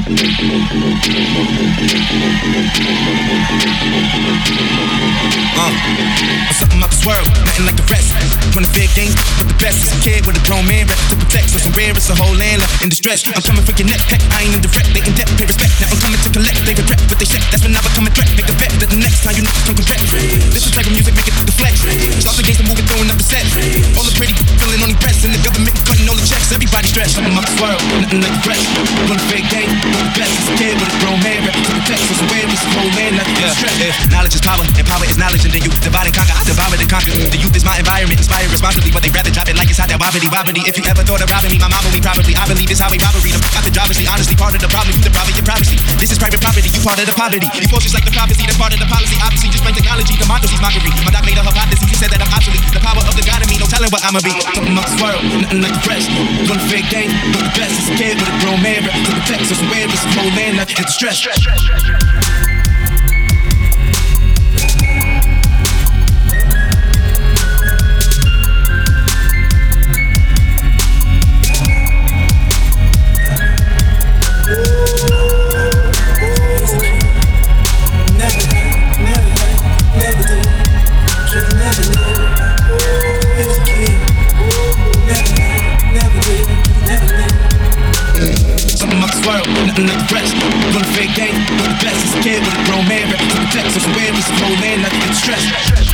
Something out this world, nothing like the rest. From the big games, but the best is a kid with a grown man rep to protect. So some rare, it's a whole land left in distress. I'm coming for your neck, heck, I ain't in direct. They in debt, pay respect. Now I'm coming to collect. They regret what they said. That's when I become a threat. Make a bet that the next time you come correct. This is type of music, make it deflect. Start against the movie, throwing up the set. All the pretty feeling on the breasts, and the government cutting all the checks. Everybody stressed. Something out this world, nothing like the rest. From the big game, but the best is a kid with a grown man rep to protect. So some rare, it's a whole land left in distress. Knowledge is power, and power is knowledge, and then you divide and conquer. I devour and conquer. The youth is my environment, inspired responsibly, but they rather drive it like it's hot, that wobbly. If you ever thought of robbing me, my mama, we probably. I believe it's how we robbery. The got the driver's honestly, part of the problem, you the problem, your privacy. This is private property, you part of the poverty. You force just like the prophecy, that's part of the policy. Obviously, just plain technology, democracy's mockery. My doc made a hypothesis, he said that I'm obsolete. The power of the God in me, no telling what I'ma be. Something out this world, nothing like the rest. From the big game, but the best is a kid with a grown man rep to protect. So some rare, it's a whole land left in distress. Nothing like the rest. From the fake game, but the best is a kid with a grown man rep to protect. So some rare, it's a whole land left in distress.